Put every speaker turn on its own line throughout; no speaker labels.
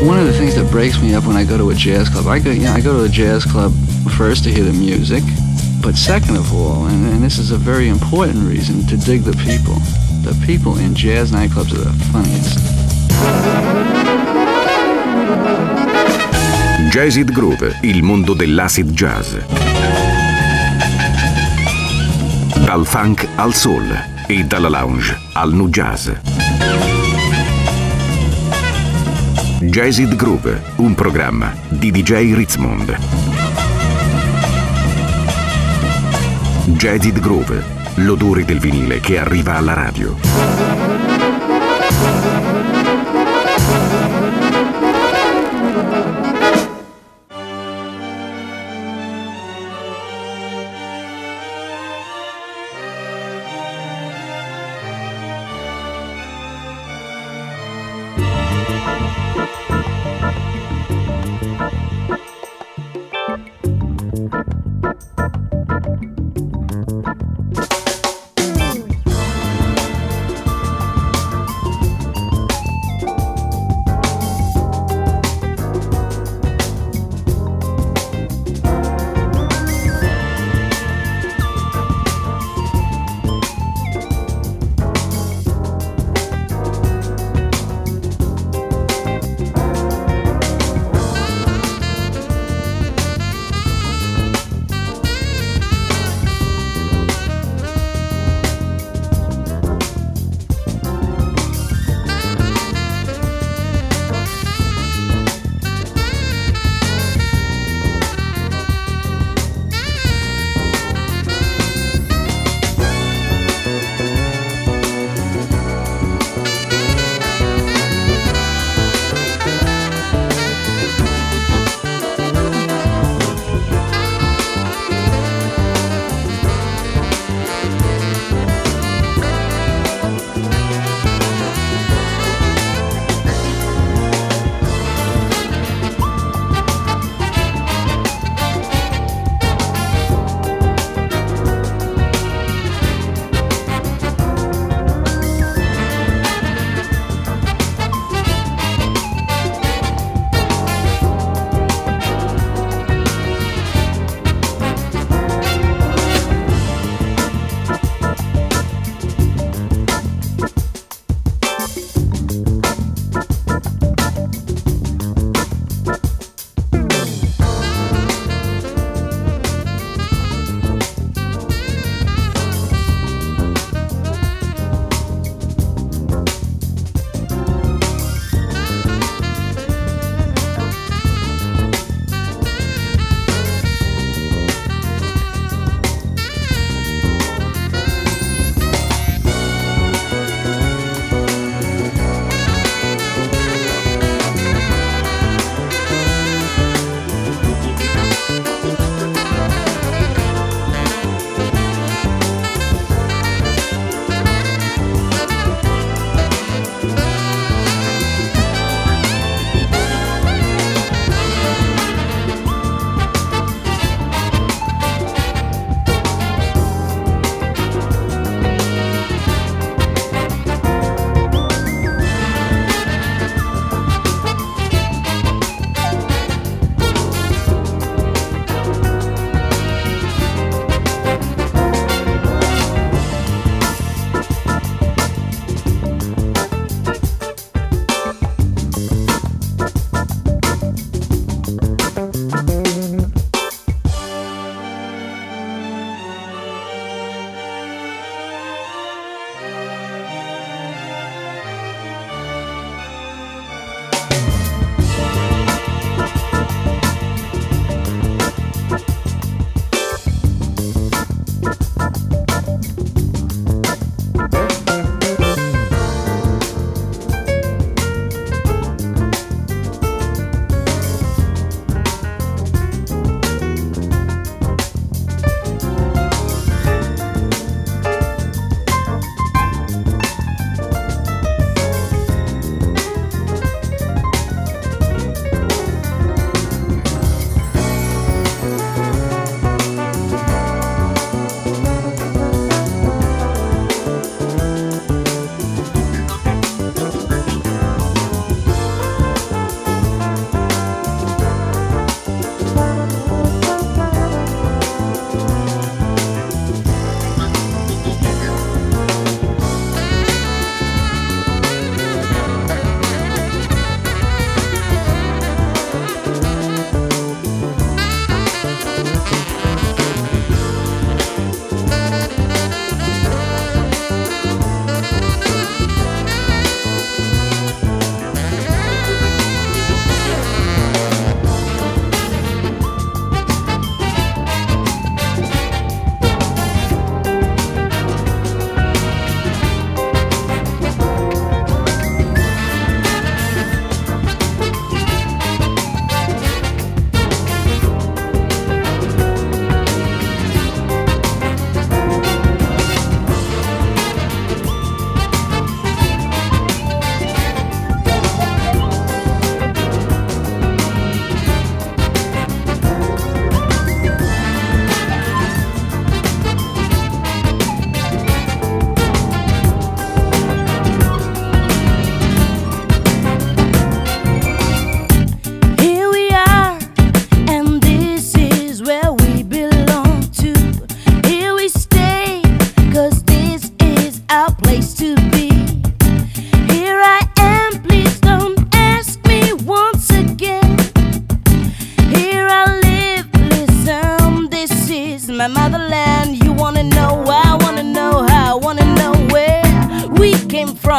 One of the things that breaks me up when I go to a jazz club, I go to a jazz club first to hear the music, but second of all, and this is a very important reason, to dig the people. The people in jazz nightclubs are the funniest.
Jazzid Groove, il mondo dell'acid jazz. Dal funk al soul e dalla lounge al nu jazz. Jazzid Groove, un programma di DJ Ritzmond. Jazzid Groove, l'odore del vinile che arriva alla radio.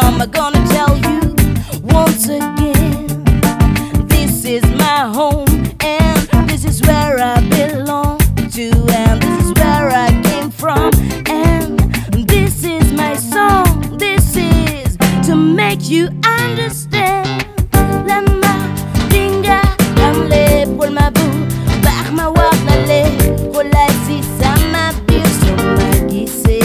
from. I'm gonna tell you once again, this is my home and this is where I belong to, and this is where I came from, and this is my song. This is to make you understand. Lama dinga kamle pol ma bu baax ma wax la le xolay si sama biir sama gise.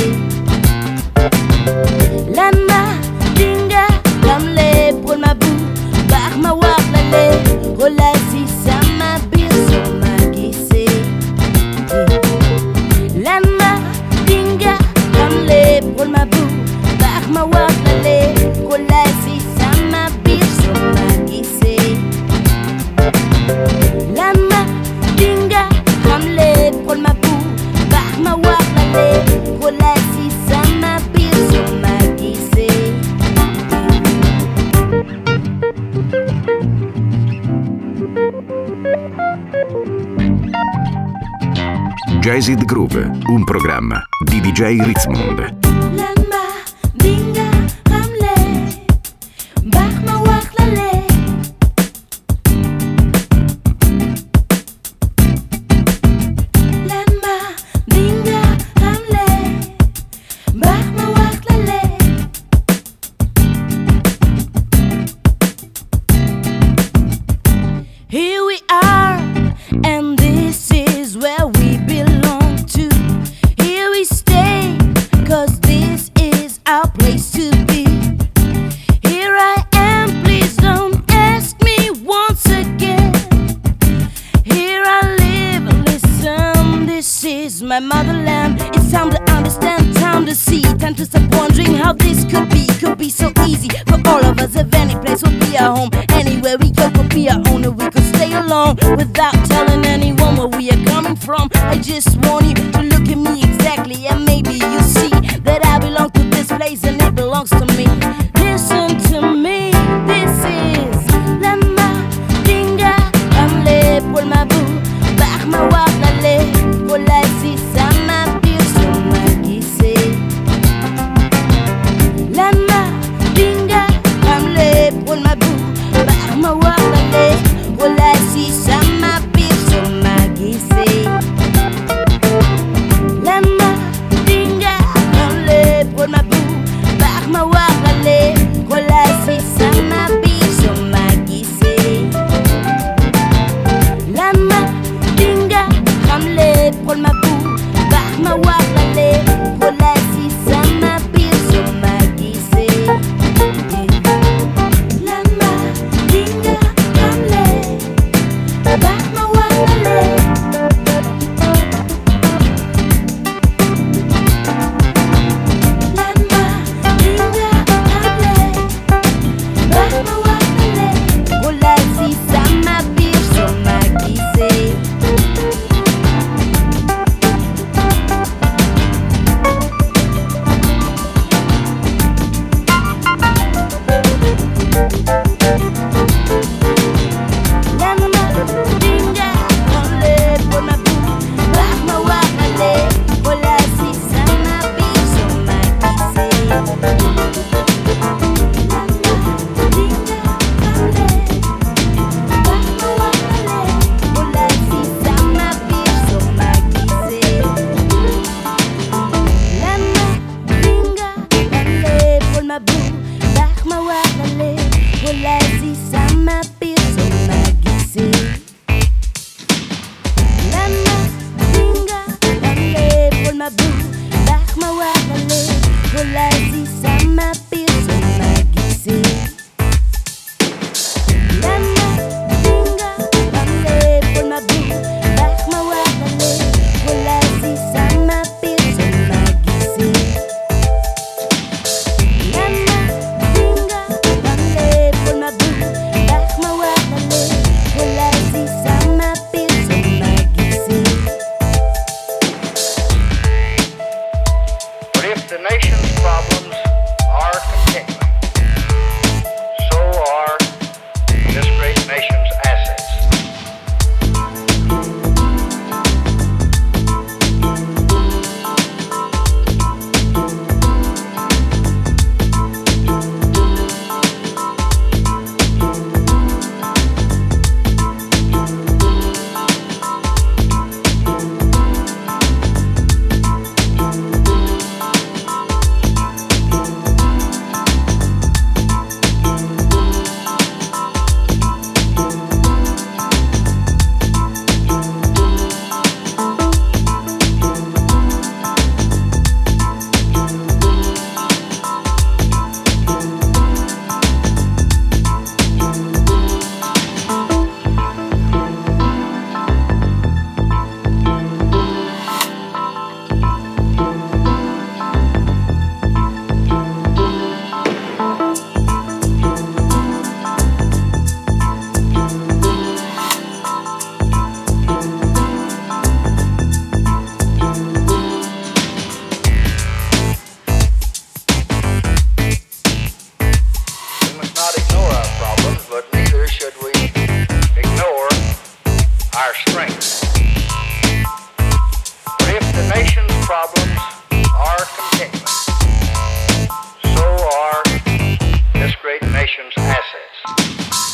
Lama dinga kamle pol ma bu baax ma wax la le xolay si sama biir sama gise. Lama dinga kamle pol ma bu baax ma wax la le xolay si sama biir sama gise. Lama dinga kamle pol ma bu baax ma wax la le xolay si sama biir sama gise.
Jazzid Groove, un programma di DJ Ritzmond.
Lama dinga kamle baax ma wax la le. Lama dinga kamle baax ma wax la le. Here we are, and this is where we belong to. Here we stay, 'cause this is our place to be. Here I am, please don't ask me once again. Here I live, listen, this is my motherland. It's time to understand, time to see, time to stop wondering how this could be so easy for all of us. If any place will be our home, anywhere we go could be our own, and we could stay alone without telling anyone where we are coming from. I just want you to look at me exactly, and maybe you see that I belong to this place and it belongs to me. Listen to me, this is Lama dinga kamle pol ma bu baax ma wax la le xolay si sama biir sama gise. Lama dinga kamle pol ma bu baax ma wax la le xolay si sama biir sama gise. Lama dinga kamle pol ma bu baax ma wax la le xolay si sama biir sama gise. Lama dinga kamle pol ma bu baax ma wax la le xolay si sama biir sama gise. Lama dinga kamle baax ma wax la le. Lama dinga kamle baax ma wax la le xolay si sama biir sama gise. Lama dinga kamle pol ma bu baax ma wax la le xolay si sama biir sama gise. Lama dinga kamle baax ma wax la le xolay si sama biir sama gise. Lama dinga kamle pol ma bu baax ma wax la le xolay si sama biir sama gise. Lama dinga kamle pol ma bu baax ma wax la le xolay si sama biir sama gise. Lama dinga kamle pol ma bu baax ma wax la le xolay si sama biir sama gise. Lama dinga kamle pol ma bu baax ma wax la le xolay si sama biir sama gise.
But if the nation's problems are nation's assets.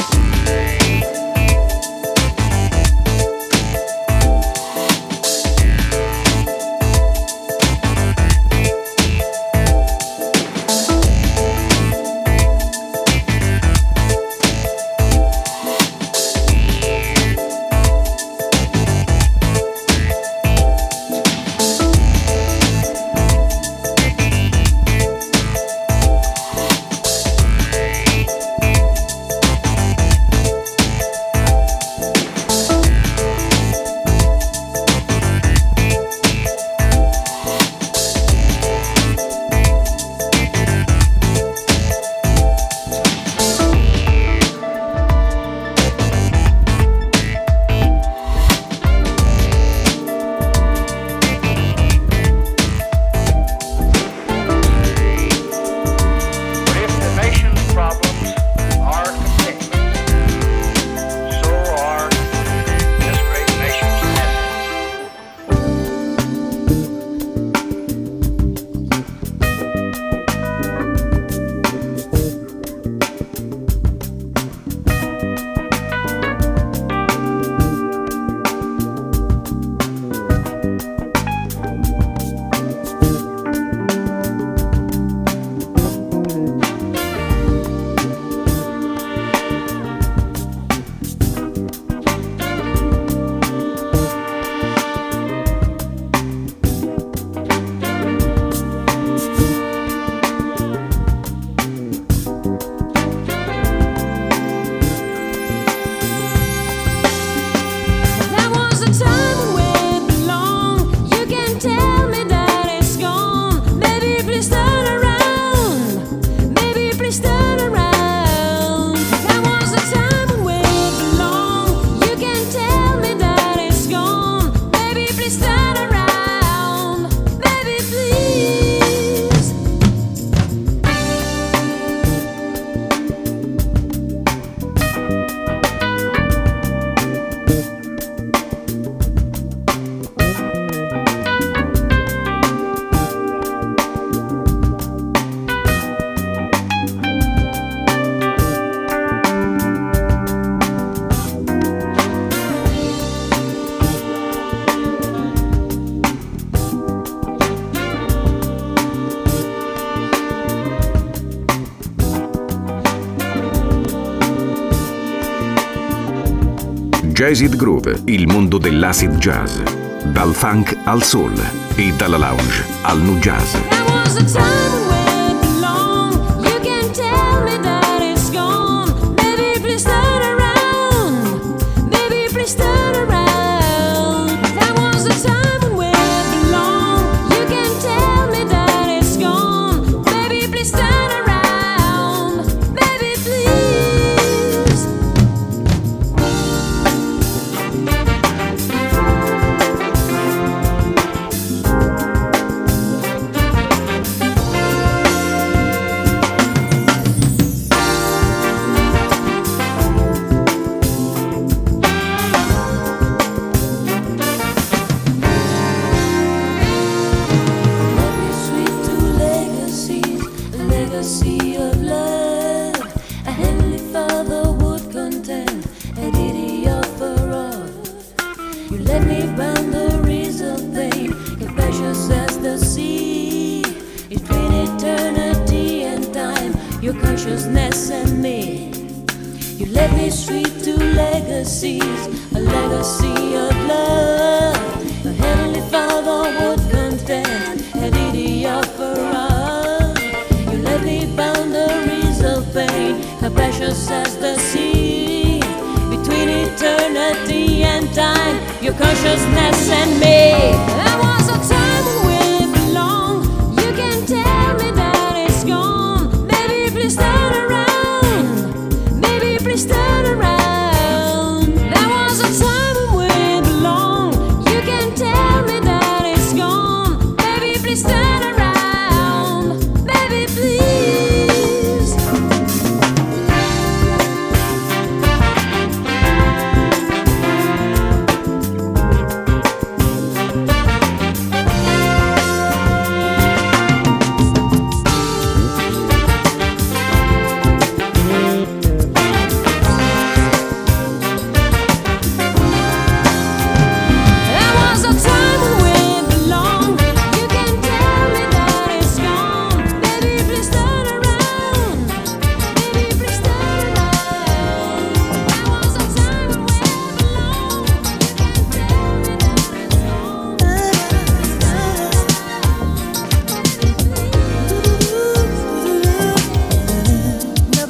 Jazzid Groove, il mondo dell'acid jazz. Dal funk al soul e dalla lounge al nu jazz.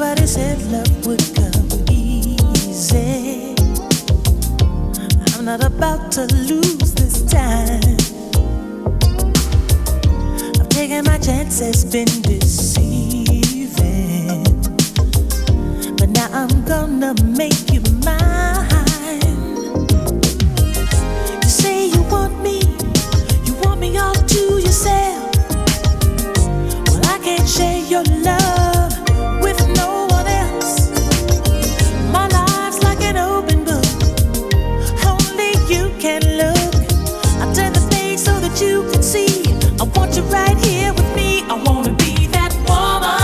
Nobody said love would come easy. I'm not about to lose this time. I've taken my chances, been deceiving, but now I'm gonna make you mine. You say you want me all to yourself. Well, I can't share your love with no one else. My life's like an open book, only you can look. I turn the page so that you can see. I want you right here with me. I wanna be that woman.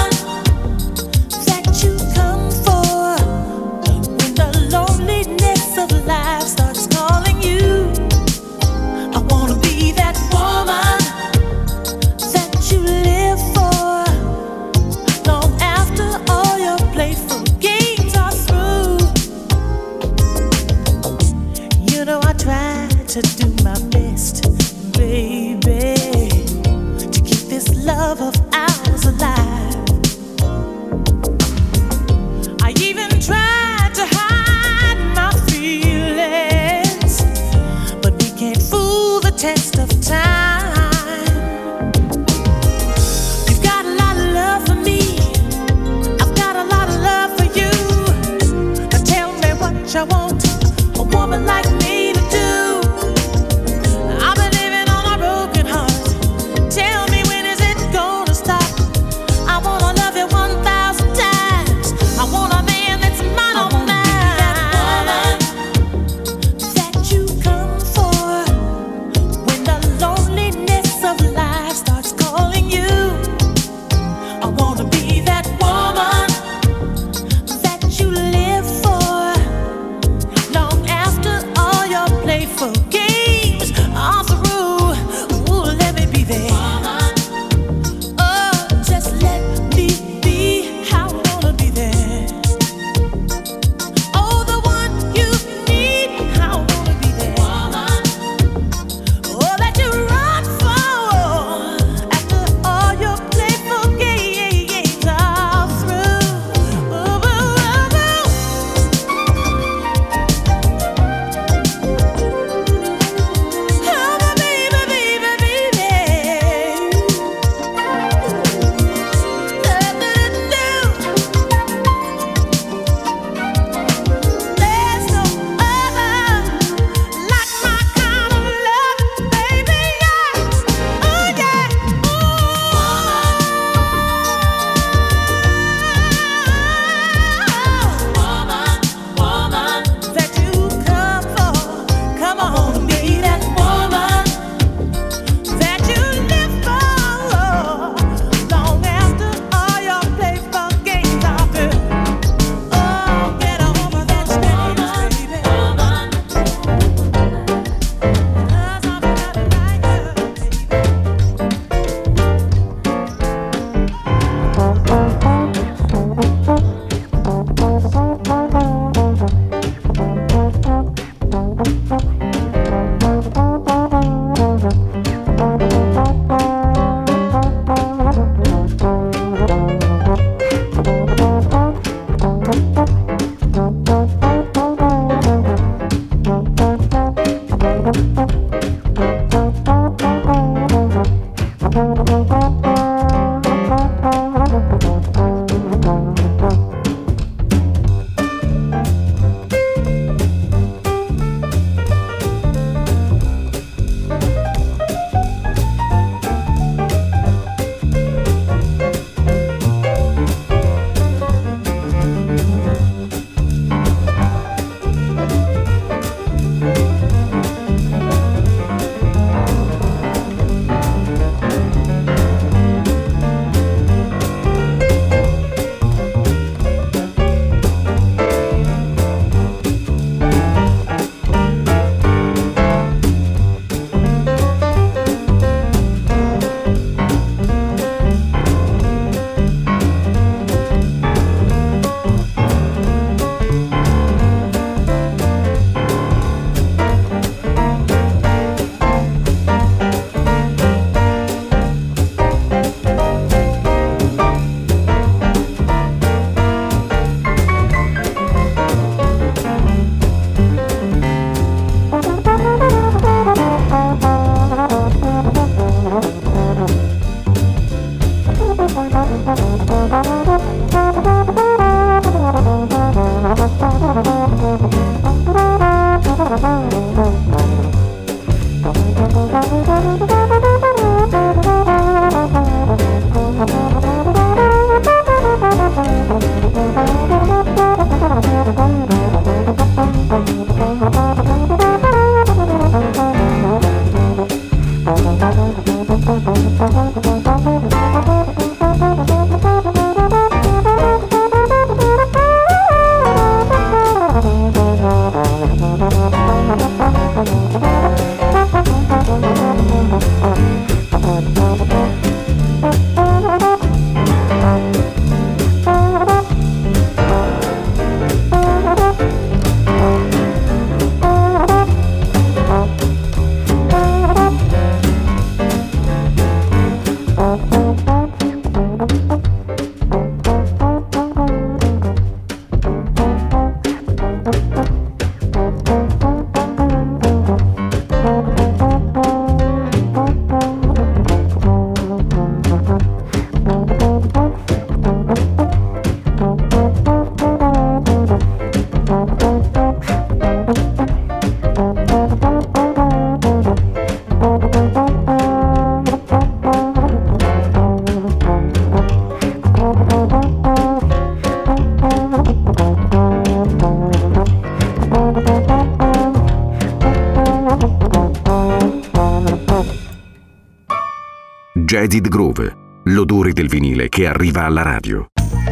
Jazzed Groove, l'odore del vinile che arriva alla radio.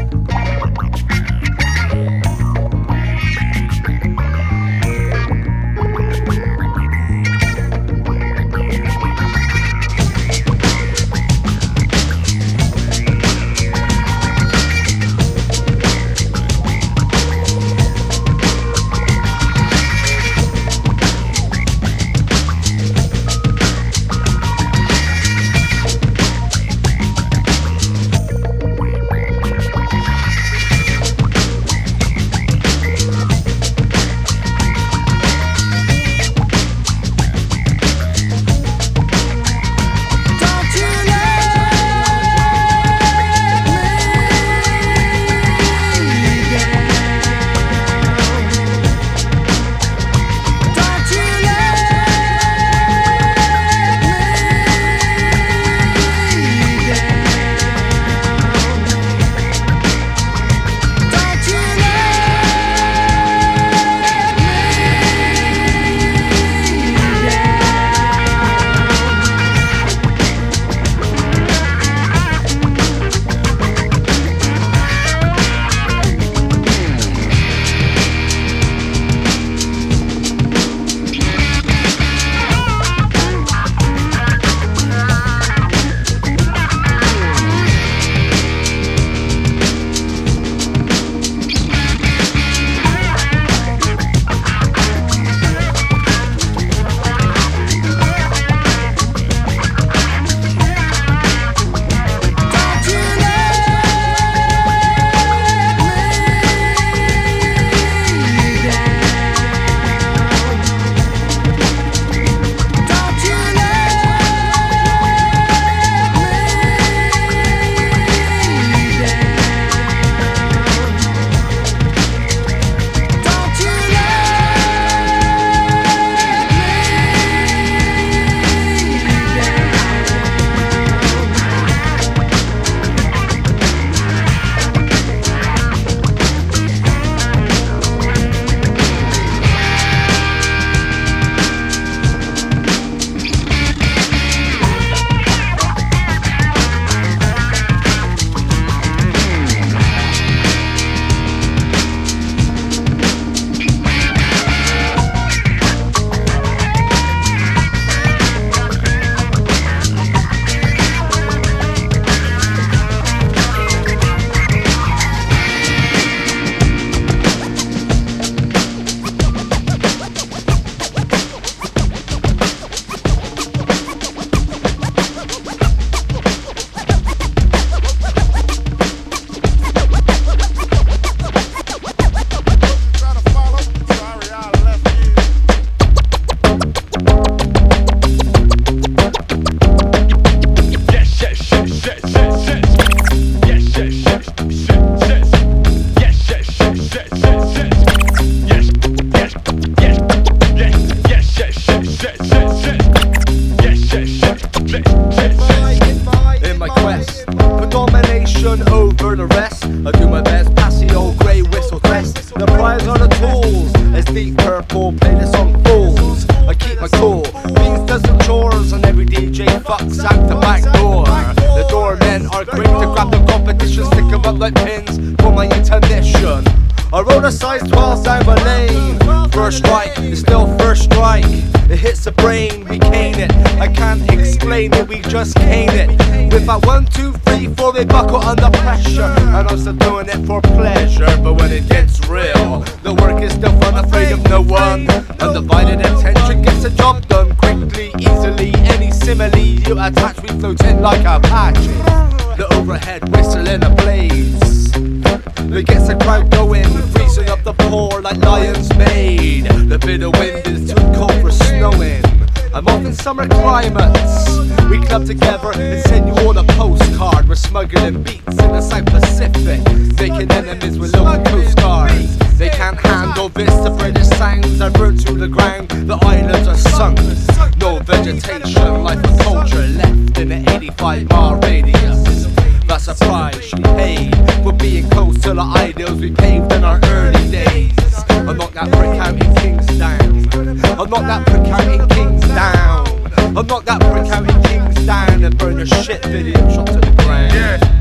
Summer climates, we club together and send you all a postcard. We're smuggling beats in the South Pacific, making enemies with local coast guards. They can't handle this, the British sounds are burnt to the ground. The islands are sunk, no vegetation, life and culture left in an 85-mile radius. That's a price you paid for being close to the ideals we paved in our early days. I'll knock that brick out in Kingsdown. I'll knock that brick out in Kingsdown. I'll knock that brick out in Kingsdown. it down and burn your shit video shot to the ground.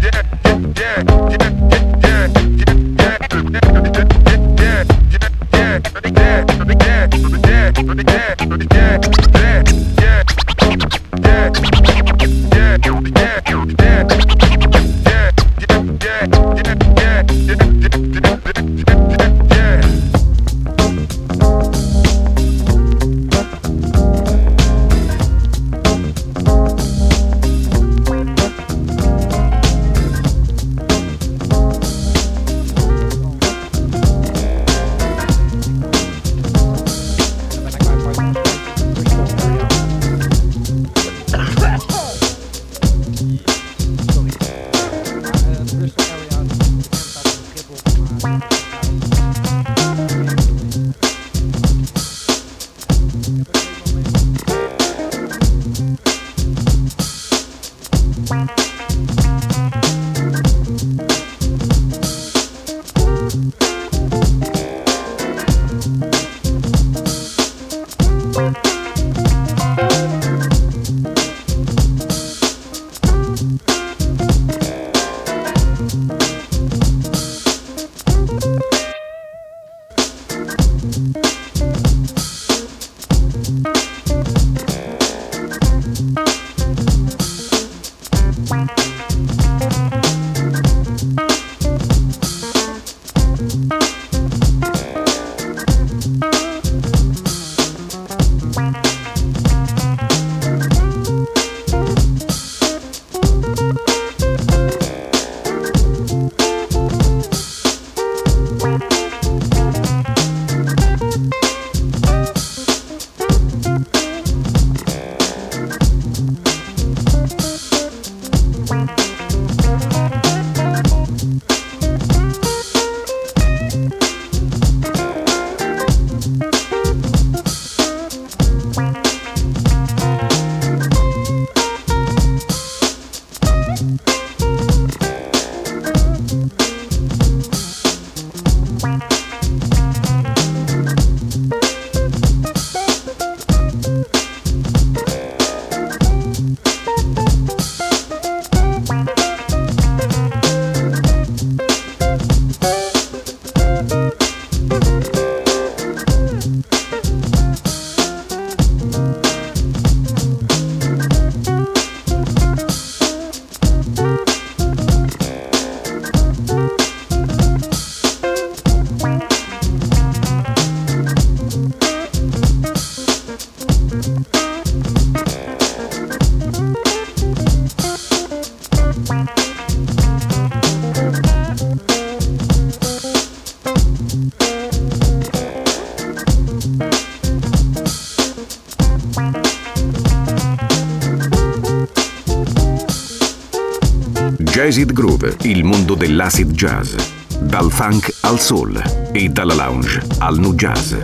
Jazz Groove, il mondo dell'acid jazz. Dal funk al soul e dalla lounge al nu jazz.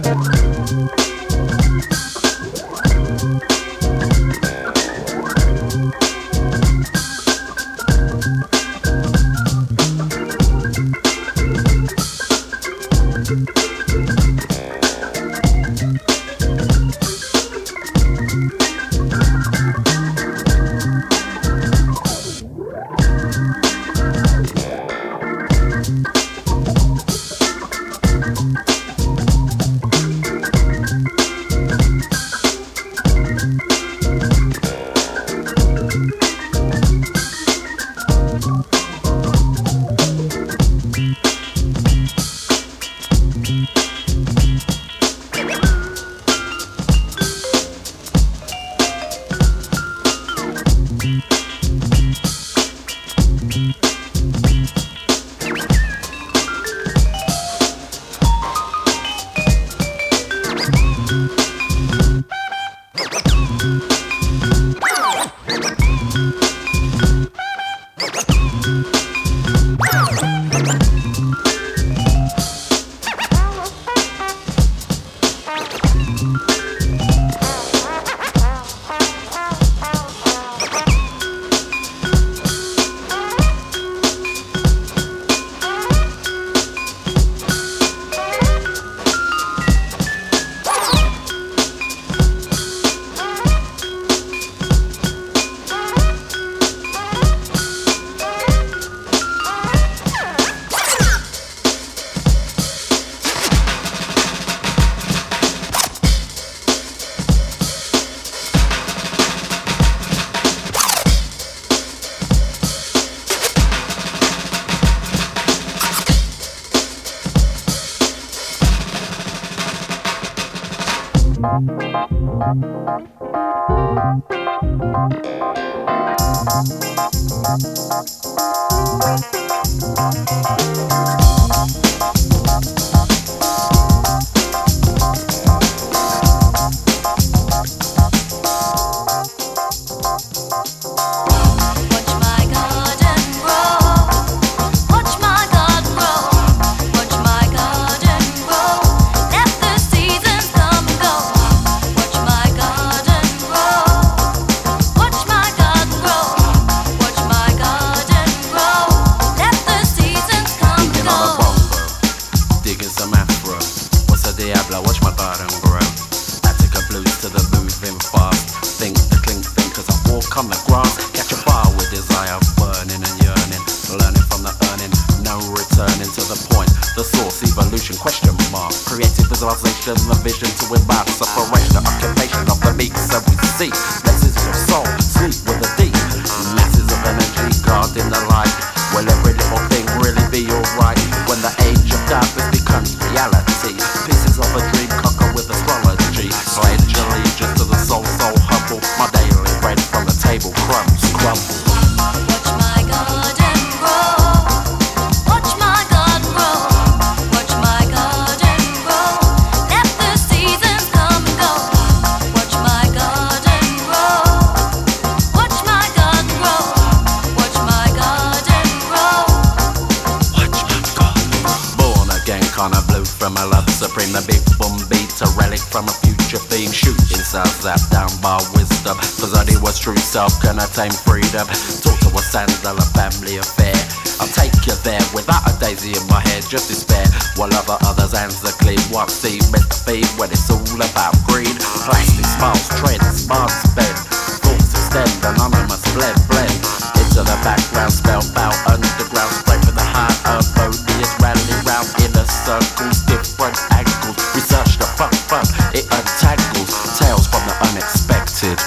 Self-contained freedom. Talk to a sandal, a family affair. I'll take you there without a daisy in my head, just despair. While other others' hands are clean. What seed meant to feed when it's all about greed? Plastic smiles, trends, smarts bend. Thoughts extend, anonymous blend. Into the background, spellbound, underground. Straight for the heart of odious. Rally round inner circles, different angles. Research the fun, it untangles. Tales from the unexpected.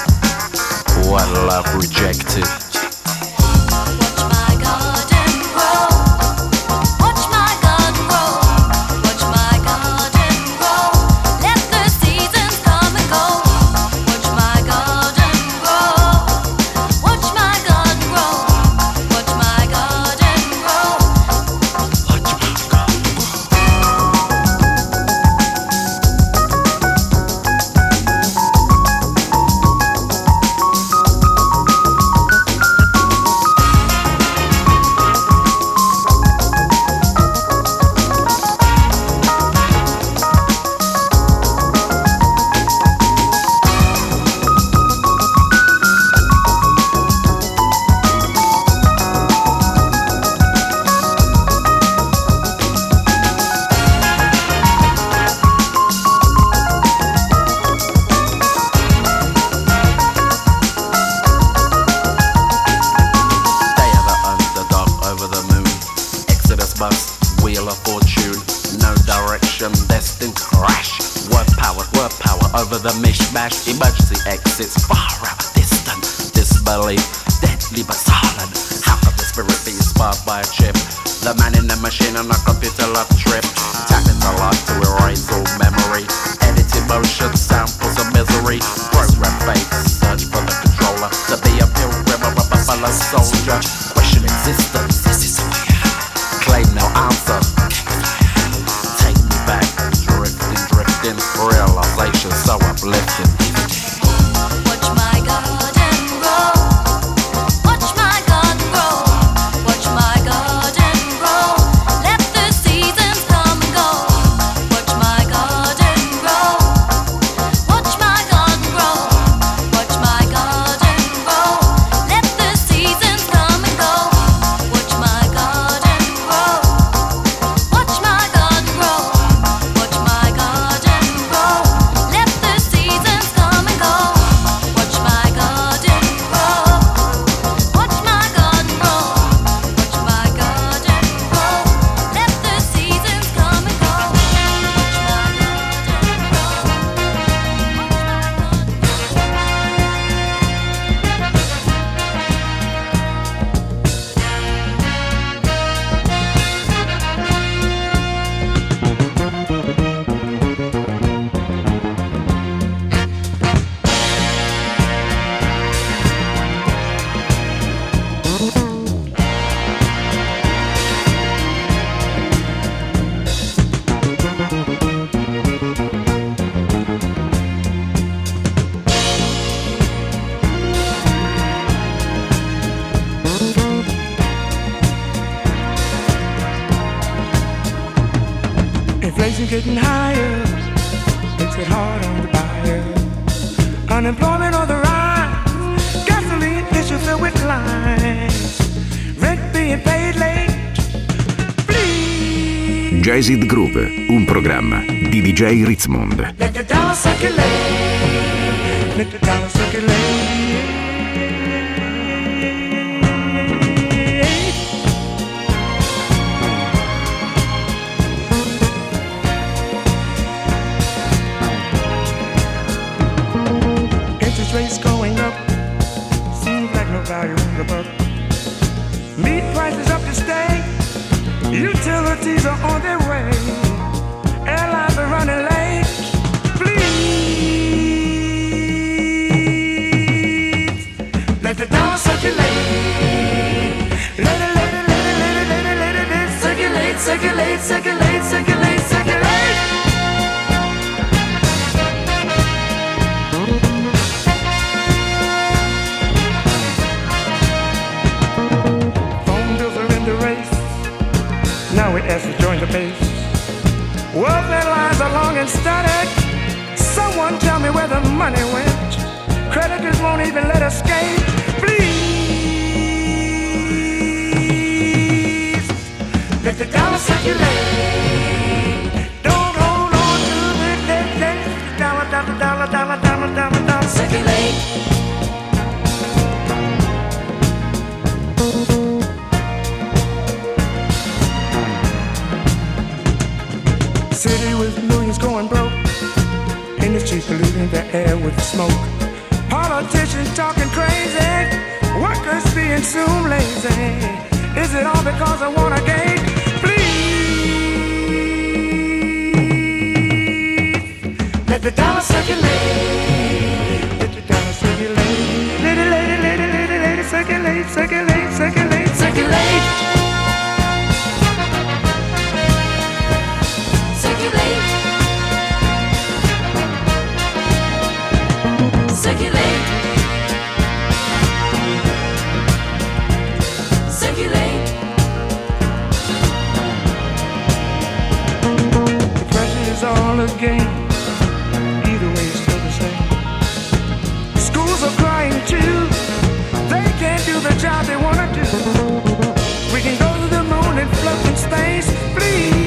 What love rejected. The mishmash, emergency exits, far out, distant, disbelief, deadly but silent. How could the spirit be inspired by a chip? The man in the machine on a computer love trip. Tap into life to erase all memory. Edit emotion, samples of misery. Program fate, search for the controller. To be a pilgrim or a buffalo soldier. Question existence, this is who I am. Claim no answer. Take me back, drifting, realization so uplifting.
Watch my garden grow. Watch my garden grow. Watch my garden grow. Let the seasons come and go. Watch my garden grow. Watch my garden grow. Watch my garden grow. Let the seasons come and go. Watch my garden grow. Watch my garden grow. Watch my garden grow. Let the seasons come.
Inflation getting higher, makes it hard on the buyer. Unemployment on the rise, gasoline issues filled with lines, rent being paid late. Please.
Jazzed Groove, un programma di DJ Ritzmond.
Let the dollar circulate, let the dollar circulate. Rates going up, seems like no value in the buck. Meat prices up to stay, utilities are on their way, airlines are running late. Please, let the dollar circulate. Let it circulate, circulate, circulate, circulate, circulate. Now we ask to join the base. Welfare lines are long and static. Someone tell me where the money went. Creditors won't even let us escape. Please, let the dollar circulate. Don't hold on to the dollar, dollar, dollar, dollar, dollar, dollar, dollar, circulate. City with millions going broke, industries polluting the air with smoke, politicians talking crazy, workers being soon lazy. Is it all because I want a gain? Please, let the dollar circulate, let the dollar circulate, let it circulate, circulate, circulate, circulate.
Circulate, circulate.
The pressure is all a game. Either way, it's still the same. Schools are crying too. They can't do the job they want to do. We can go to the moon and float in space. Please.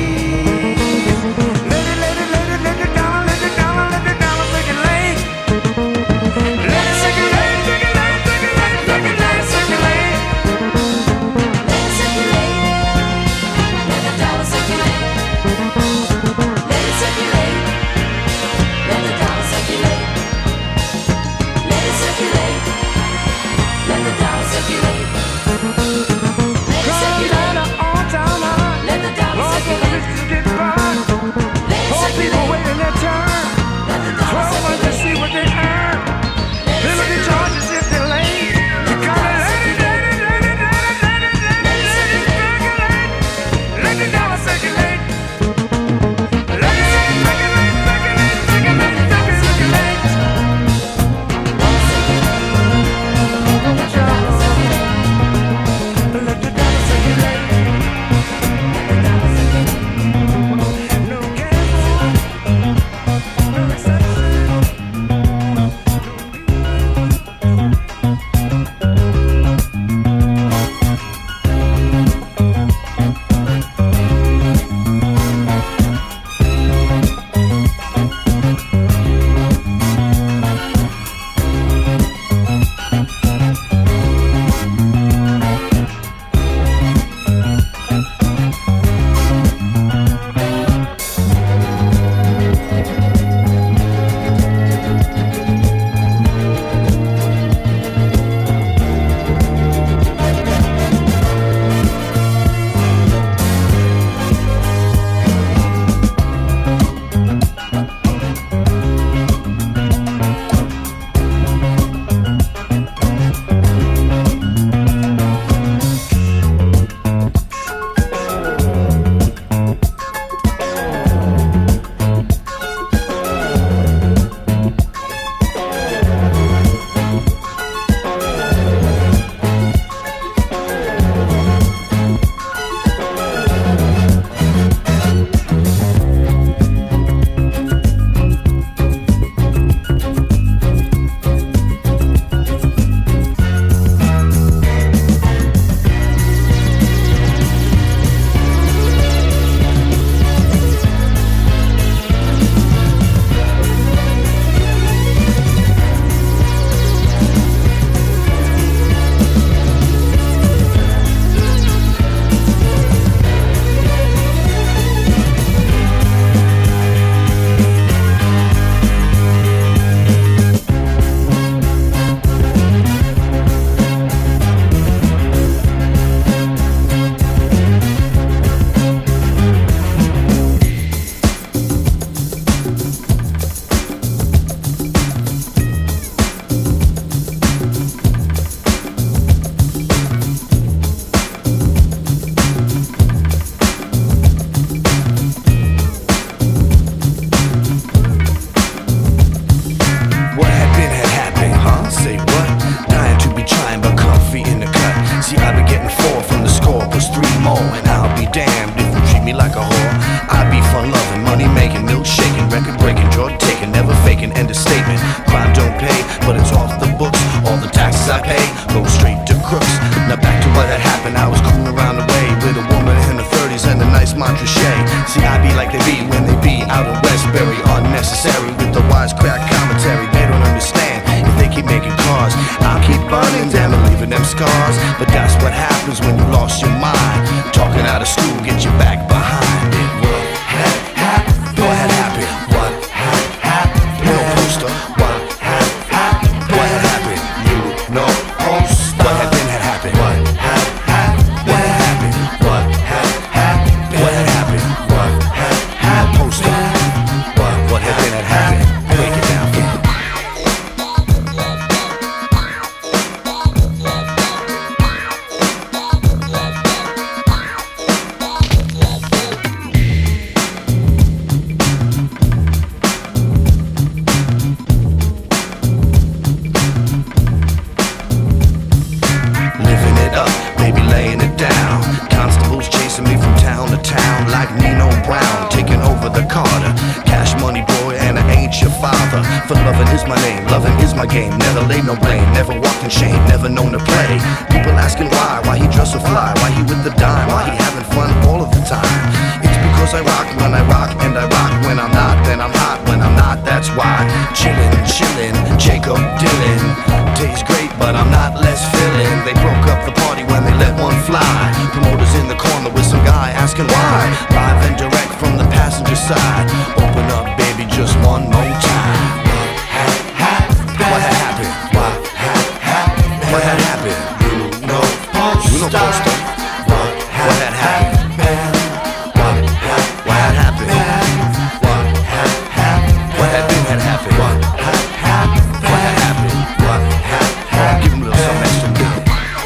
be when they be out in Westbury. Unnecessary with the wisecrack commentary. They don't understand if they keep making cars. I'll keep burning them and leaving them scars. But that's what happens when you lost your mind. Talking out of school, get you back behind it. What had happened? What had happened? What had happened? No poster. What had happened? What had happened? You know poster. What had been had happened? What had happened? What had happened? What had happened? What had happened? What had happened? Poster. What had been had happened? Break it down for me. For loving is my name, loving is my game. Never laid no blame, never walked in shame, never known to play. People asking why he dress so fly, why he with the dime, why he having fun all of the time. It's because I rock when I rock, and I rock when I'm not. Then I'm hot when I'm not, that's why. Chillin', Jacob Dylan. Tastes great, but I'm not less feeling. They broke up the party when they let one fly. Promoters in the corner with some guy asking why. Live and direct from the passenger side. Open up, baby, just one more time. What had happened? What had happened? What had happened? You know poster. What had happened? What had happened? What had happened? What had been had happened? What had happened? What had happened? What had happened? Give him a little something extra now.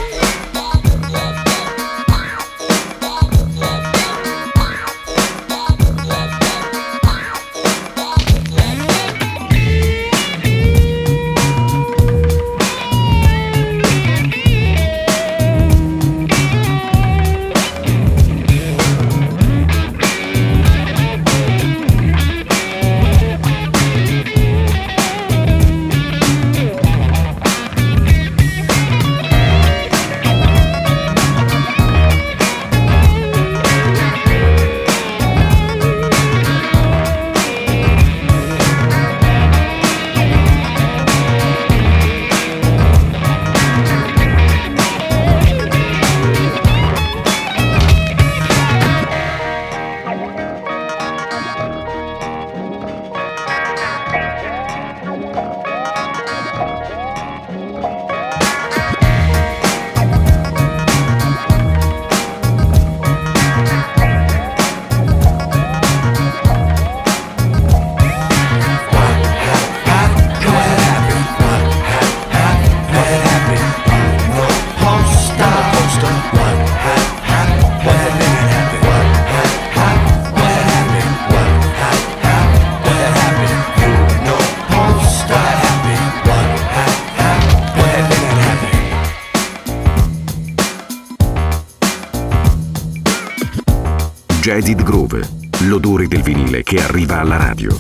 Jazzed Groove, l'odore del vinile che arriva alla radio.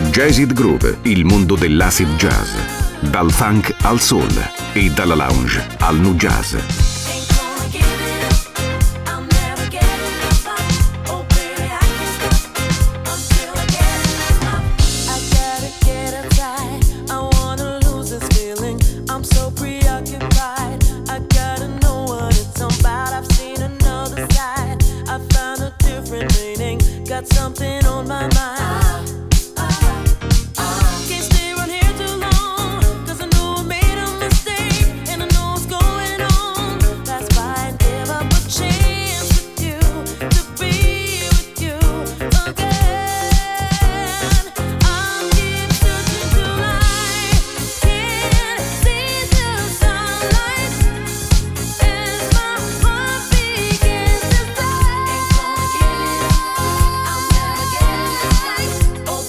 Jazzed Groove, il mondo dell'acid jazz. Dal funk al soul e dalla lounge al nu jazz.
Something on my mind. Can't stay around here too long, 'cause I know I made a mistake, and I know what's going on. That's why I give up a chance with you, to be with you again. I'll keep searching till I can't see the sunlight, as my heart begins to fly. Ain't gonna give it up. I'll never get it right. Oh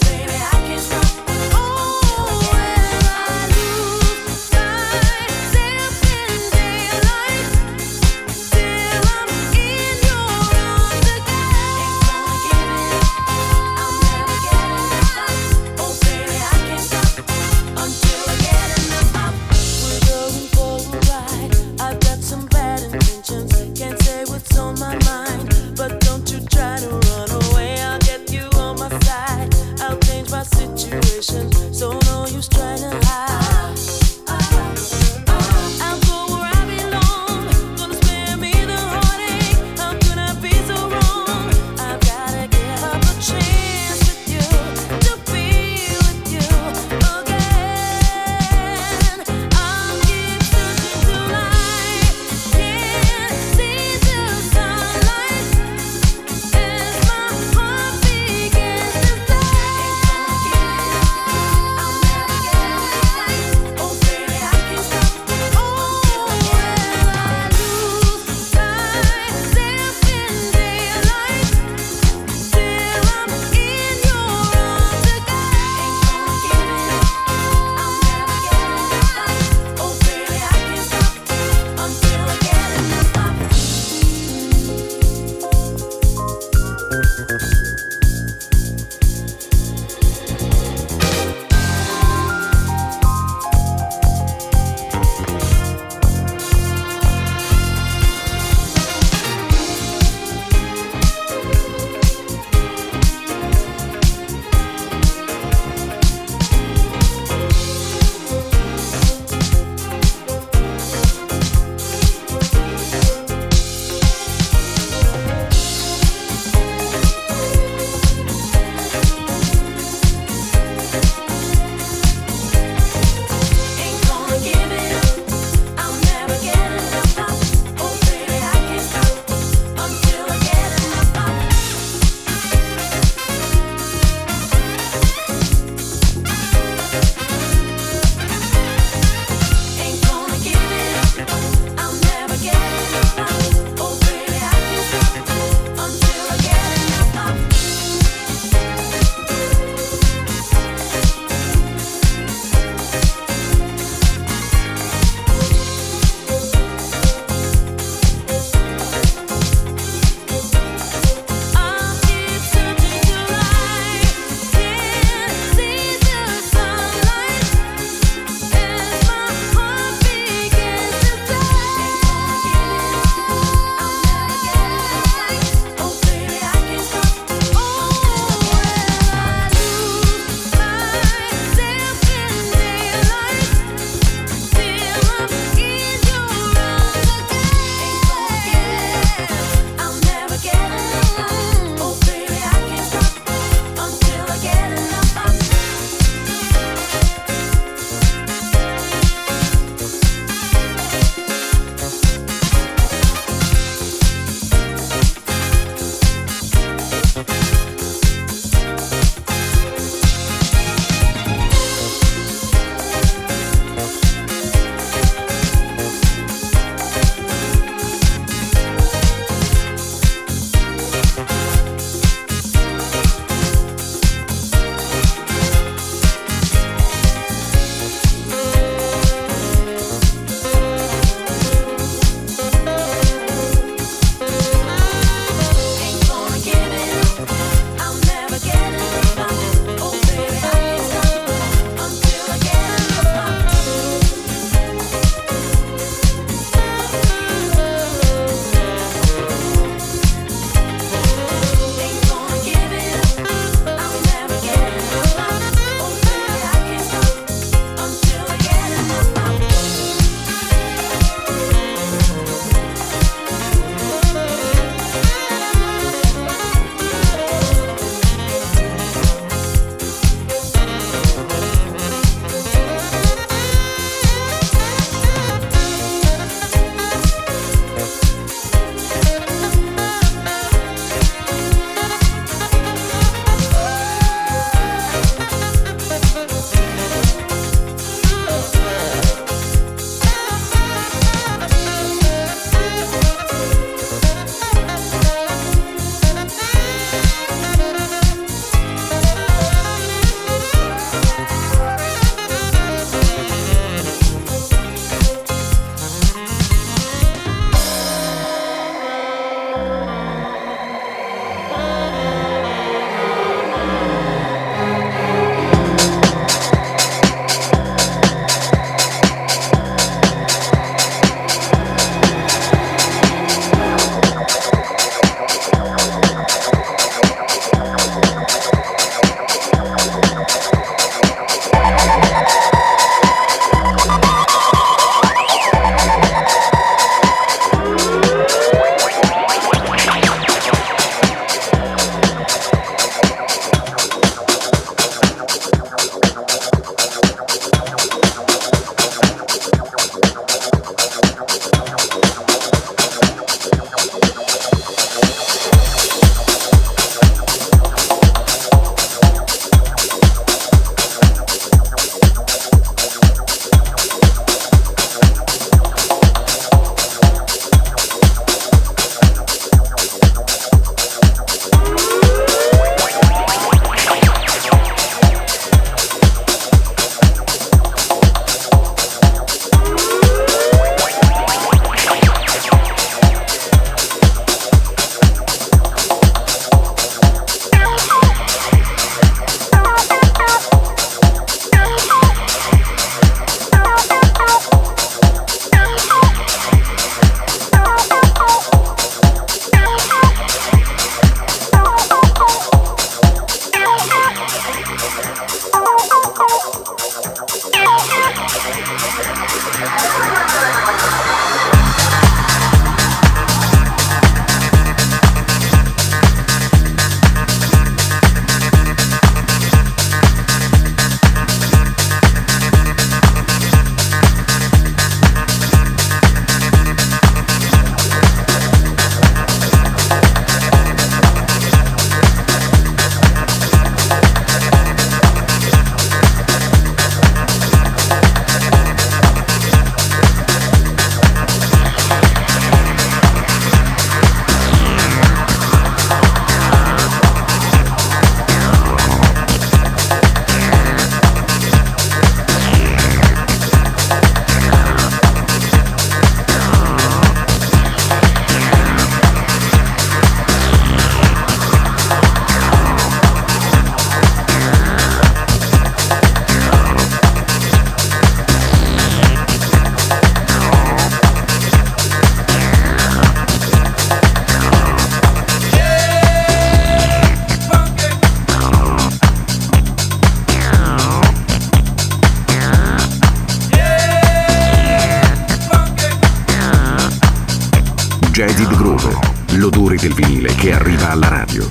Jazzy the Groove, l'odore del vinile che arriva alla radio.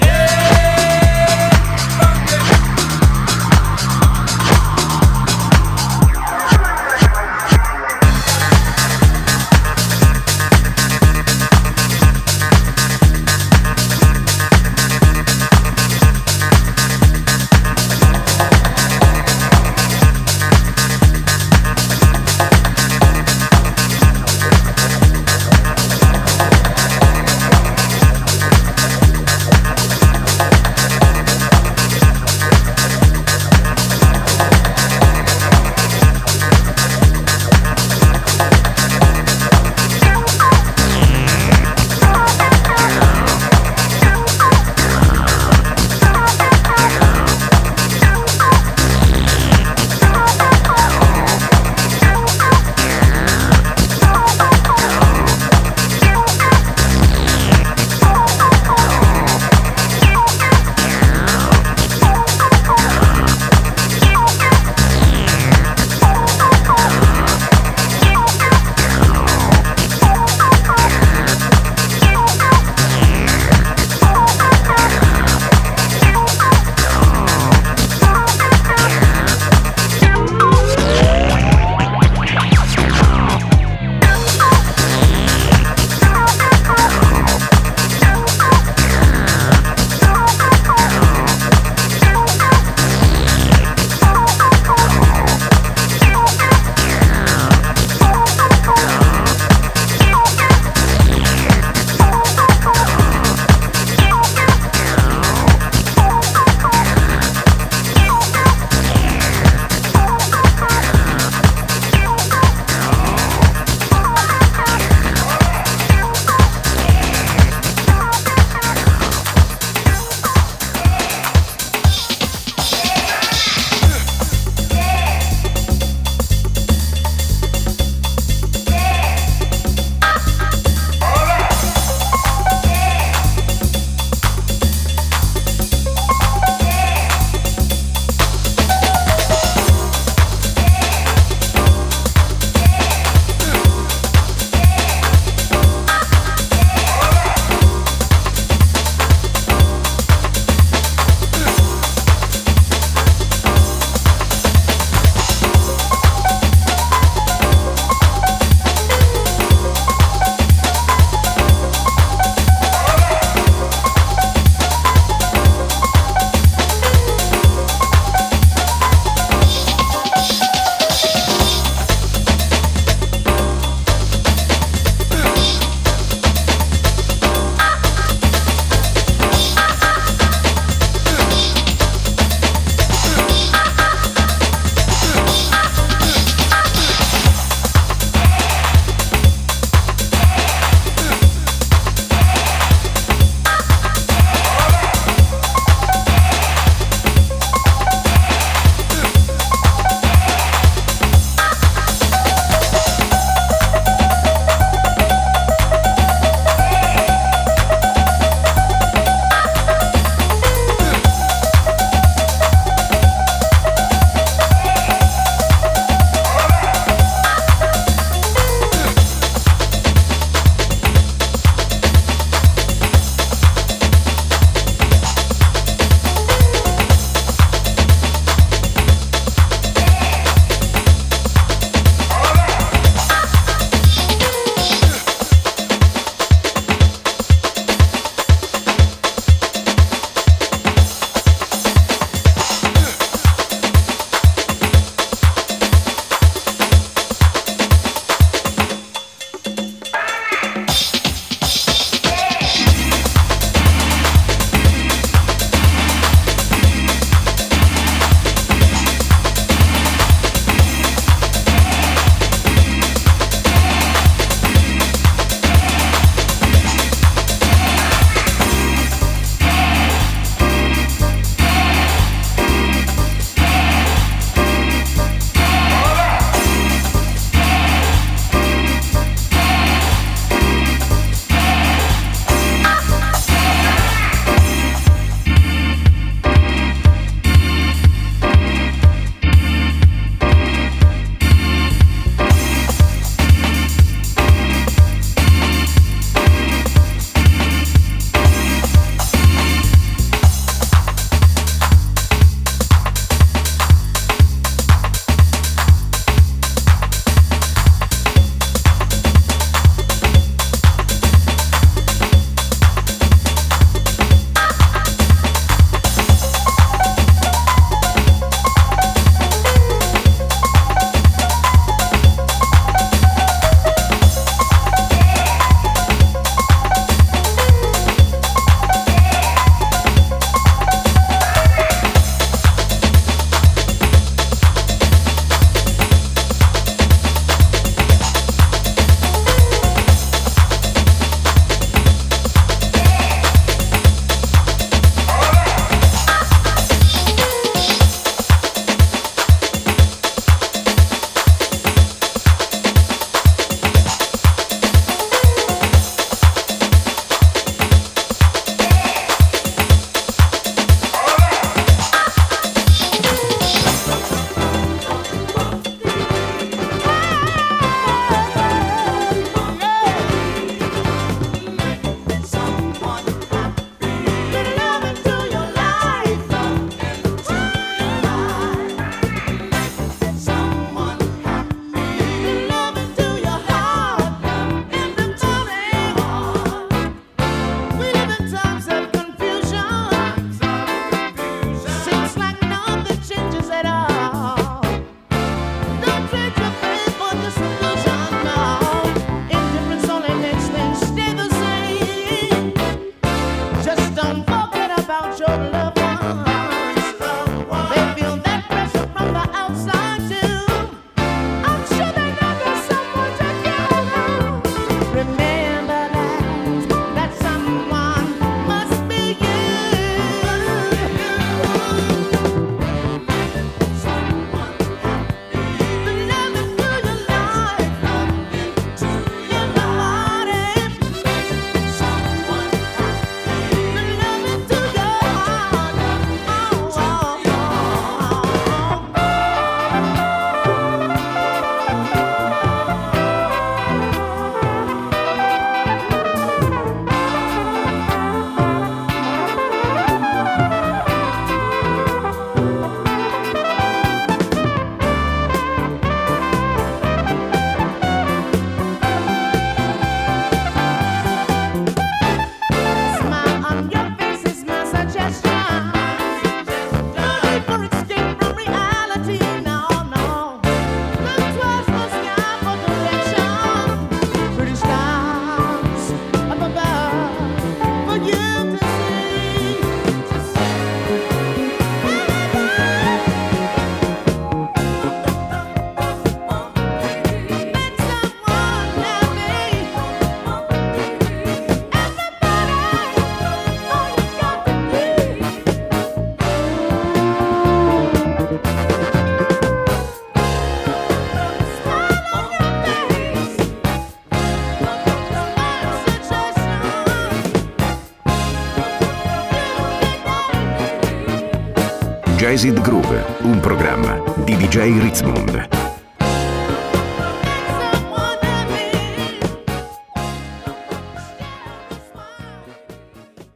Jazzed Groove, un programma di DJ Ritzmond.